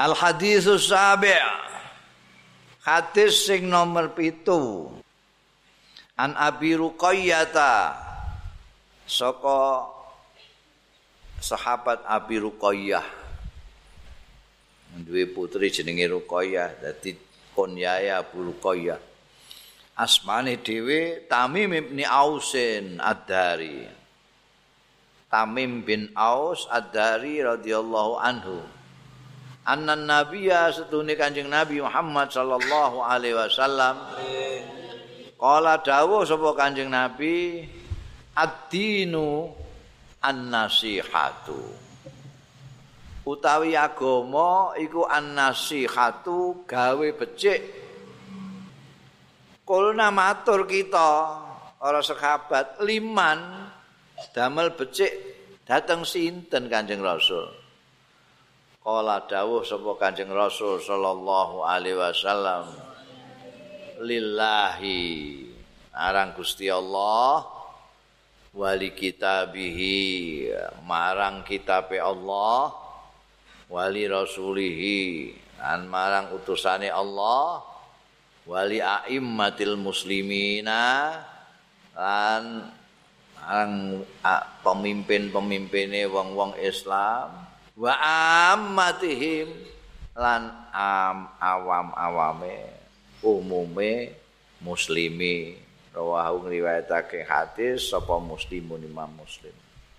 Al haditsus sabi'. Hadis sing nomor 7. An Abi Ruqayyah saka sahabat Abi Ruqayyah. Duwe putri jenenge Ruqayyah, dadi kunyae Abu Ruqayyah. Asmane dhewe Tamim bin Ausin Ad-Dari. Tamim bin Aus Ad-Dari radhiyallahu anhu. Annan nabiyya setune Kanjeng Nabi Muhammad sallallahu alaihi wasallam qala dawuh sapa Kanjeng Nabi ad-dinu an-nasihatu utawi agama iku an-nasihatu gawe becik. Kulna matur kita para sahabat liman damel becik dateng sinten Kanjeng Rasul. Qala dawuh sapa Kanjeng Rasul sallallahu alaihi wasallam lillahi marang Gusti Allah wali kitabihi marang kitabe Allah wali rasulihi lan marang utusane Allah wali aimmatil muslimina lan marang pemimpin-pemimpine wong-wong Islam wa ammatihim lan awam-awame umume muslimi. Rawahu ngriwayatake hadis sapa Muslimun Imam Muslim.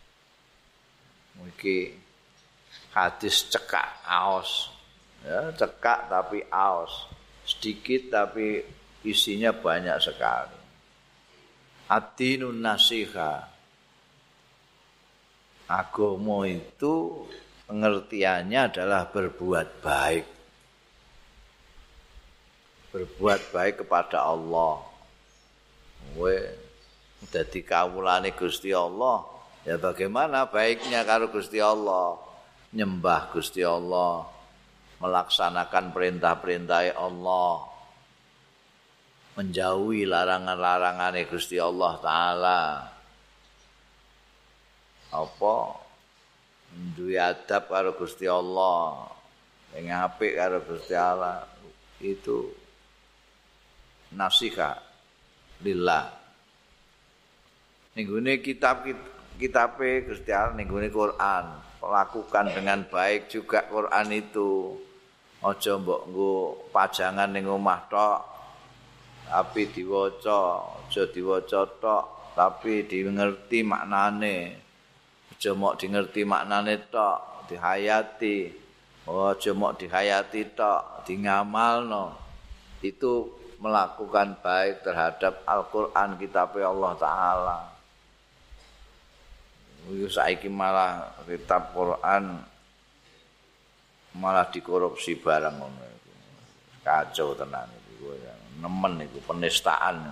Iki hadis cekak aos. Ya, cekak tapi aos. Sedikit tapi isinya banyak sekali. Ad-dinun nasiha. Agama itu pengertiannya adalah berbuat baik. Berbuat baik kepada Allah. Dadi kawulane Gusti Allah, ya bagaimana baiknya karo Gusti Allah? Nyembah Gusti Allah, melaksanakan perintah-perintah Allah, menjauhi larangan-larangane Gusti Allah taala. Apa duwe adab karo Gusti Allah, sing apik karo Gusti Allah itu nasihat lillah. Ning gone kitabe Gusti Allah ning gone Quran, lakukan dengan baik juga Quran itu. Aja mbok nggo pajangan ning omah tok, tapi diwaca, aja diwaca tok, tapi dingerti maknane. Aja mok dingerti maknane tok, dihayati. Aja mok dihayati tok, dingamalno. Itu melakukan baik terhadap Al-Qur'an kitab Allah taala. Saiki malah kitab Quran malah dikorupsi barang ngono iku. Kacau tenan iku. Nemen iku penistaan.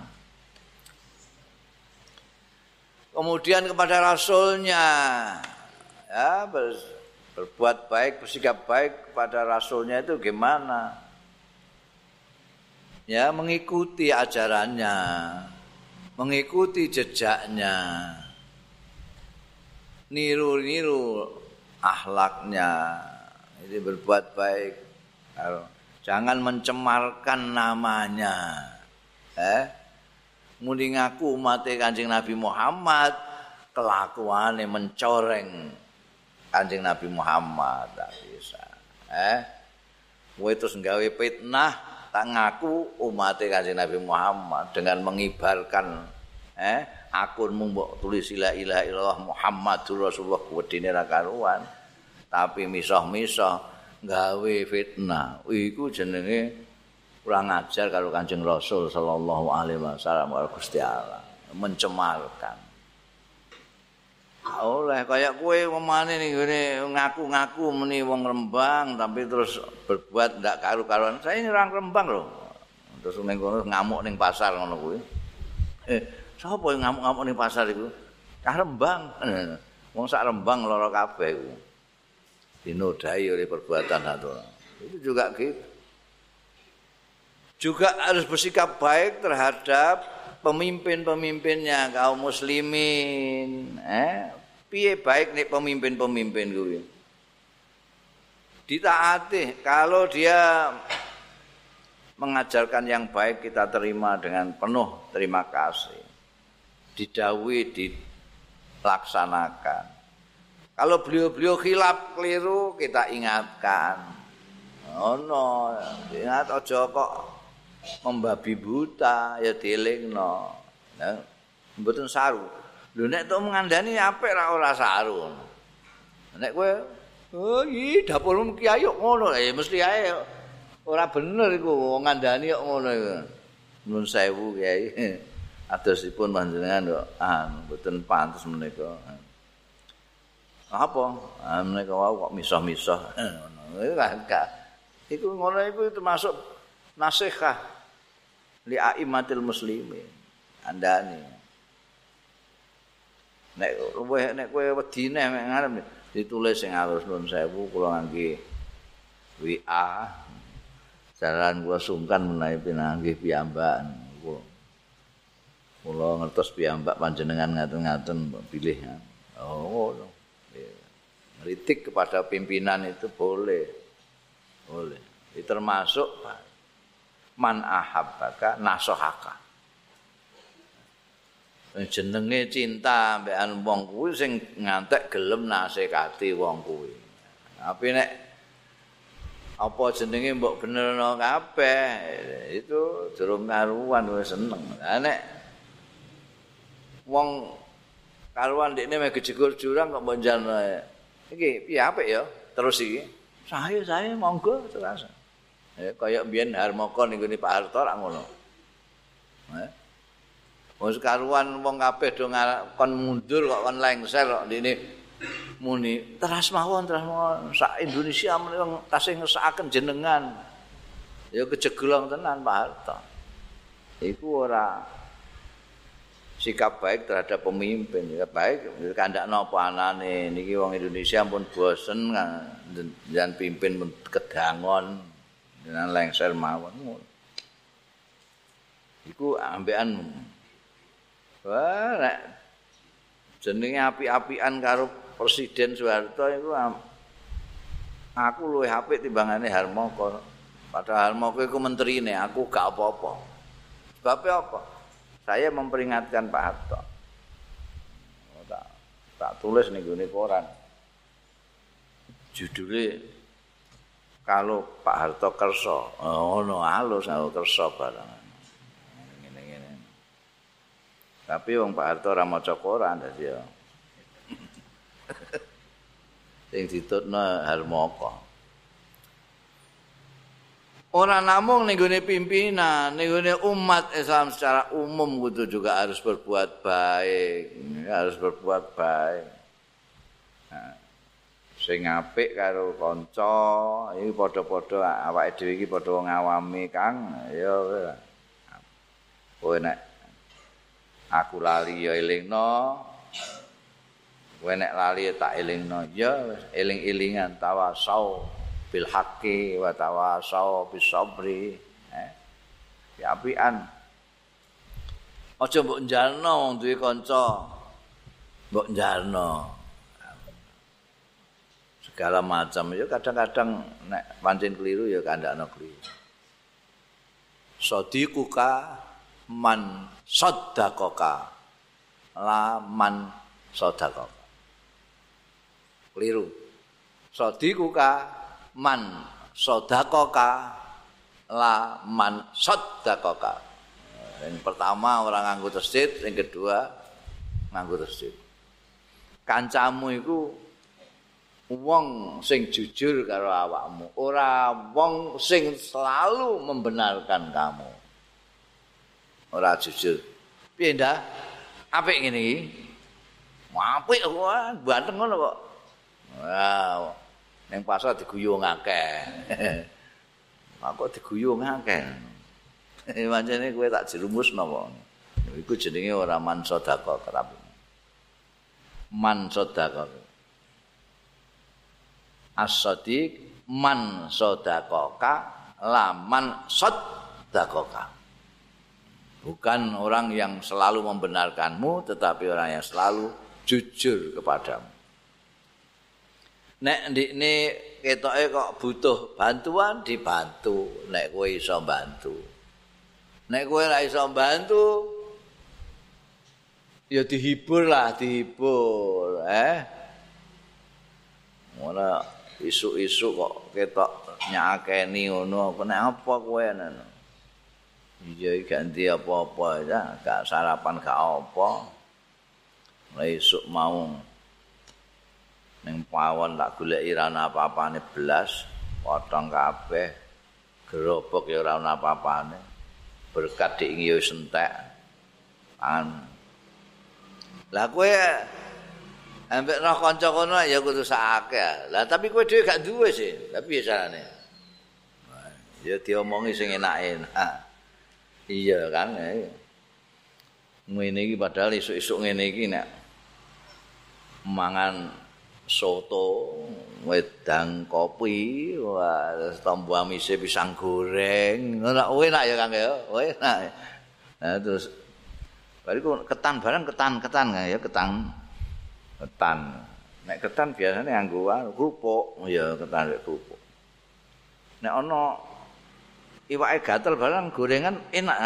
Kemudian kepada Rasulnya, ya berbuat baik, bersikap baik kepada Rasulnya itu gimana? Ya mengikuti ajarannya, mengikuti jejaknya, niru-niru akhlaknya, itu berbuat baik. Jangan mencemarkan namanya. Muni ngaku umat Kanjeng Nabi Muhammad, kelakuane mencoreng Kanjeng Nabi Muhammad tak bisa. Kowe terus nggawe fitnah tak ngaku umat Kanjeng Nabi Muhammad dengan mengibarkan akunmu mbok tulis la ilaha illallah Muhammadur Rasulullah wedine ra karuan. Tapi misah-misah nggawe fitnah. Iku jenenge kurang ajar kalau Kanjeng Rasul sallallahu alaihi wasallam karo Gusti Allah, mencemarkan. Oleh kaya kowe pemane ning ngene ngaku-ngaku meni wong Rembang tapi terus berbuat ndak karu-karuan. Saya ini orang Rembang lho. Terus ning kono ngamuk ning pasar ngono kuwi. Sapa yang ngamuk-ngamuk ning pasar iku? Cah Rembang. Wong sak Rembang lara kabeh iku. Dinodai oleh perbuatan satu. Itu juga gitu. Juga harus bersikap baik terhadap pemimpin-pemimpinnya kaum muslimin. Piye baik nek pemimpin-pemimpin kuwi. ditaati. Kalau dia mengajarkan yang baik kita terima dengan penuh terima kasih. Didhawuhi dilaksanakan. Kalau beliau-beliau khilaf keliru kita ingatkan. No, ingat aja kok membabi buta ya dielingno. Nah, mboten saru. Lho nek tok ngandani apik ra ora saru. Nek kowe oh iki dapurmu kiai kok ngono ya mesti ae ora bener iku ngandani kok ngono iku. Nuwun sewu kiai. Adosipun panjenengan kok mboten pantes menika. Apa? Menika wau kok misah-misah. Iku ngono iku termasuk nasihat li aimatil muslimin. Andane. Nek kowe wedine mek ngarep ditulis sing alus nuwun sewu kula ngangge WA. Jalan kula sungkan menawi pinanggih piyambak. Kula ngertos piyambak panjenengan ngaten-ngaten pilih. Oh, kritik kepada pimpinan itu boleh. Boleh. Itu termasuk man ahabbaka nasohaka. Jenenge cinta mbekan wong kuwi sing ngantek gelem nasihati wong kuwi. Tapi nek apa jenenge mbok benerno kabeh itu durung karuan wis seneng. Lah nek wong karuan dekne mek jegur jurang kok mbok njalno. Iki piye apik ya? Terus iki. Saya monggo terus. Kaya mbiyen Harmoko ning ngene Pak Harto ra ngono. Wong karuan wong kabeh do kon mundur kok kon lengser kok ndene muni teras mawon sak Indonesia menika tasih ngesakaken jenengan. Ya kejegelong tenan Pak Harto. Iku ora sikap baik terhadap pemimpin ya baik kandakno apa anane niki wong Indonesia pun bosen jan pimpin pun kedangon dengan lengser mawon ngono iku ambekan wah nek jenenge api-apian karo Presiden Soeharto iku aku luwih apik timbangane Harmoko padahal Harmoko iku menterine aku gak apa-apa sebab apa saya memperingatkan Pak Harto. Tak tulis nih gini koran. Judulnya kalau Pak Harto kerso, no halus aku kerso barang. Gini. Tapi wong Pak Harto ora maca koran dadi ya. Sing ditutno Harmoko. Ora namung ning gone pimpinan, ning gone umat Islam secara umum kudu juga harus berbuat baik, harus berbuat baik. Nah, sing apik karo kanca, iki padha-padha awake dhewe iki padha wong awame, Kang. Ya kowe nek aku lali ya elingno. Kowe nek lali tak elingno, ya eling-elingan tawasau bil haqqi wa tawasau bis sabri. Apian. Aja mbok njalno wong duwe kanca. Mbok njalno. Segala macam ya kadang-kadang nek pancen keliru ya kandakno keliru. Sadiquka man saddaqaka la man saddaqaka. Keliru. Sadiquka man sodakoka la man sodakoka. Yang pertama orang nganggo tasdid, yang kedua nganggo tasdid. Kancamu iku wong sing jujur karo awakmu, ora wong sing selalu membenarkan kamu. Ora jujur. Piye ndak? Apik ngene iki. Apik kok, banteng ngono kok. Wow. Ning pasar diguyung akeh. Aku diguyung akeh. Pancene kowe tak jerumusno kok. Iku jenenge ora man sedekah kerap. Man sedekah. As-sadiq man sedekahka la man sedekahka. Bukan orang yang selalu membenarkanmu tetapi orang yang selalu jujur kepadamu. Nek ndikne ketoke kok butuh bantuan dibantu nek kowe iso bantu. Nek kowe ora iso bantu ya dihibur. Ora isuk-isuk kok ketok nyakeni ngono, nek apa kowe ngono. Iya ganti apa-apa ya, gak sarapan gak apa. Esuk mau ning pawon tak goleki ra ana apa-apane blas, potong kabeh. Gerobak ya ora ana apa-apane. Berkat dik yo entek. Lah kowe ambek roh kanca kono ya kudu sakake. Lah tapi kowe dhewe gak duwe sih. Tapi ya carane. Ya diomongi sing enak-enak. Iya kan. Ngene iki padahal esuk-esuk ngene iki nek mangan soto, wedang kopi, wah tombo amise pisang goreng. Ora enak ya Kang ya. Enak. Nah terus bariku ketan barang ketan ya ketan. Nek ketan biasanya nganggo kerupuk, ya ketan nek kerupuk. Nek ana iwake gatel barang gorengan enak.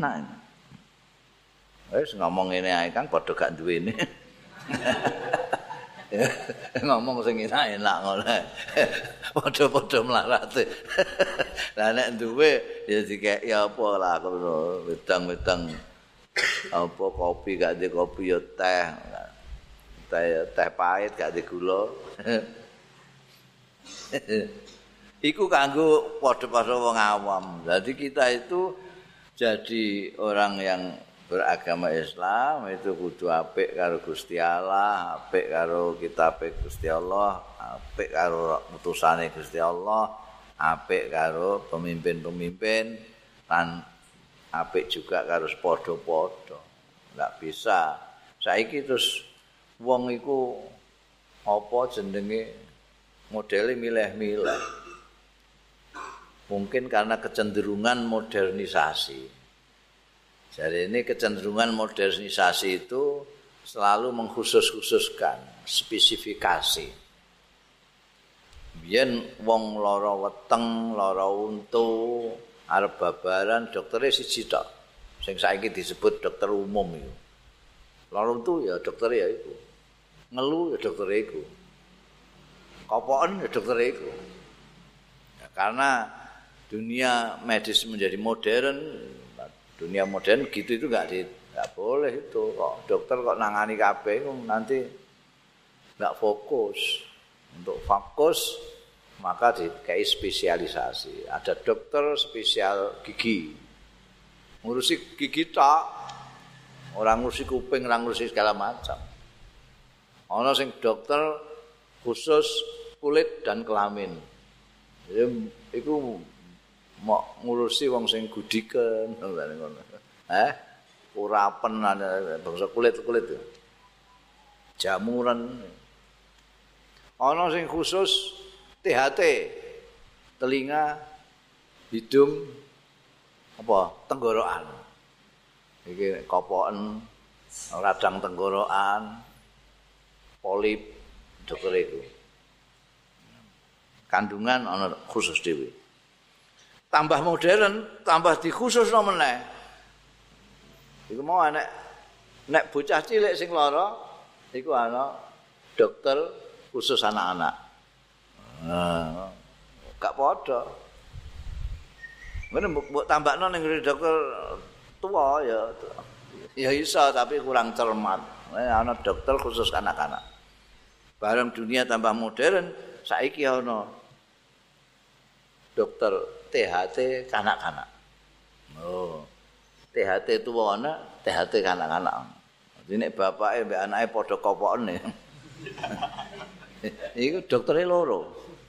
Wis ngomong ngene ae Kang padha gak duwene. Ngomong sing enak-enak ngono. Padha-padha mlarate. Lah nek duwe ya dikeki apa lah ngono, wedang-wedang apa kopi gak di kopi ya teh pahit gak di gula. Iku kanggo padha-padha wong awam. Jadi kita itu jadi orang yang beragama Islam itu kudu apik karo Gusti Allah, apik karo kitab Gusti Allah, apik karo utusane Gusti Allah, apik karo pemimpin-pemimpin lan apik juga karo padha-padha. Enggak bisa. Saiki terus wong iku apa jenenge modele milih-milih. Mungkin karena kecenderungan modernisasi. Jadi ini kecenderungan modernisasi itu selalu mengkhusus-khususkan spesifikasi. Biyen wong lara weteng, lara untu, arep babaran doktere siji tok. Sing saiki disebut dokter umum iku. Lara untu ya doktere ya iku. Ngelu ya doktere iku. Kopoken ya doktere iku. Ya, karena dunia medis menjadi modern, dunia modern gitu itu nggak boleh itu kok dokter kok nangani kabeh nanti nggak fokus. Untuk fokus maka dikai spesialisasi. Ada dokter spesial gigi, ngurusi gigi tak, orang ngurusi kuping, orang ngurusi segala macam. Ono sing dokter khusus kulit dan kelamin. Jadi itu mau ngurusi wong sing gudiken ngono. Urapen bangsa kulit-kulit. Jamuran. Ana sing khusus THT. Telinga, hidung apa? Tenggorokan. Iki kopoken, radang tenggorokan, polip dokter itu. Kandungan ana khusus dhewe. Tambah modern, tambah dikhususno meneh. Iku mau nek bocah cilik sing lara iku ana dokter khusus anak-anak. Gak padha. Ngene mbok tambahno ning dokter tua ya iso tapi kurang cermat. Ana dokter khusus anak-anak. Bareng dunia tambah modern, saiki ana dokter THT kanak-kanak. Oh. THT tuwa ana, THT kanak-kanak. Dadi nek bapake mbek anake padha kopoken. Iku doktere loro.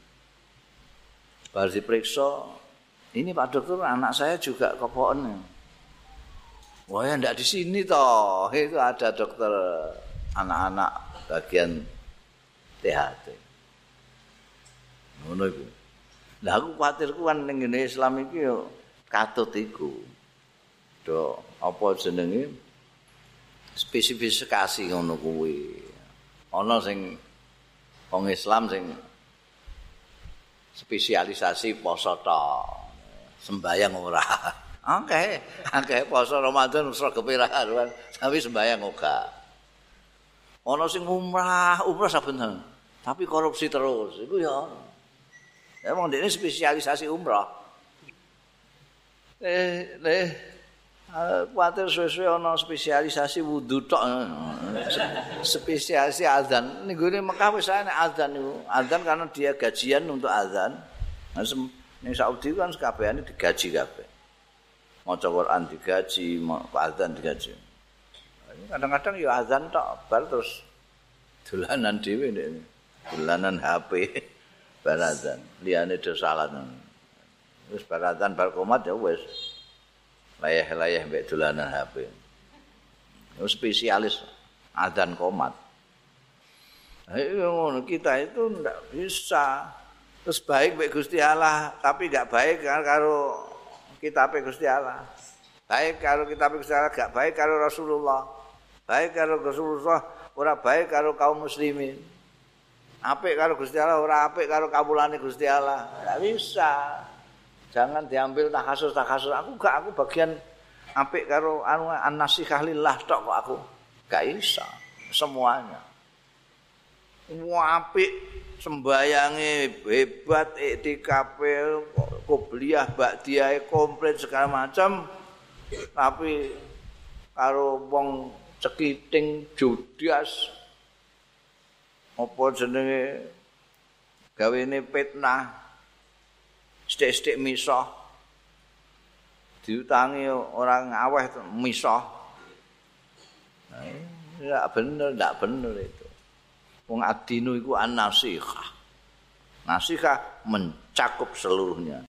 Bar diperiksa, ini Pak Dokter anak saya juga kopoken. Wah, ya ndak di sini toh. Itu ada dokter anak-anak bagian THT. Ngono iku. Lah aku kuwatirku kan ning Islam iki yo katut iku. Do apa jenenge spesifikasi ngono kuwi. Ana sing wong Islam sing spesialisasi poso tok. Sembayang ora. Akeh poso Ramadan sregepe ra karuan, tapi sembayang ora. Ana sing umrah saben tapi korupsi terus. Iku ya. Emang dia ini spesialisasi umrah. Kuatir suwe-suwe ana spesialisasi wudu tok. Spesialisasi azan. Ning gone Mekah wis ana azan niku. Azan karena dia gajian untuk azan. Ning Saudi kan kabehane digaji kabeh. Maca Quran digaji, azan digaji. Kadang-kadang ya azan tok bar terus dolanan dhewe ndek. Dolanan HP bar azan. Liyane do salat. Wis bar azan bar qomat ya wis. Layah-layah mbek dolanan HP. Spesialis azan qomat. Ayo ngono kita itu ndak bisa. Terus baik mbek Gusti Allah, tapi enggak baik karo kitab Gusti Allah. Baik karo kitab Gusti Allah, enggak baik karo Rasulullah. Baik karo Rasulullah, ora baik karo kaum muslimin. Apik karo Gusti Allah, ora apik karo kawulane Gusti Allah. Enggak bisa. Jangan diambil takhasus. Aku bagian apik karo an-nasihah lillah tok kok aku. Gak bisa semuanya. Semua apik sembayange hebat, iktikafe, qobliyah, ba'diyah komplit segala macam. Tapi karo wong cekiting judas apa jenenge gawene fitnah sithik-sithik misah diutangi orang aweh misah. Nah, ndak bener itu. Wong adinu iku an-nasihah. Nasihah mencakup seluruhnya.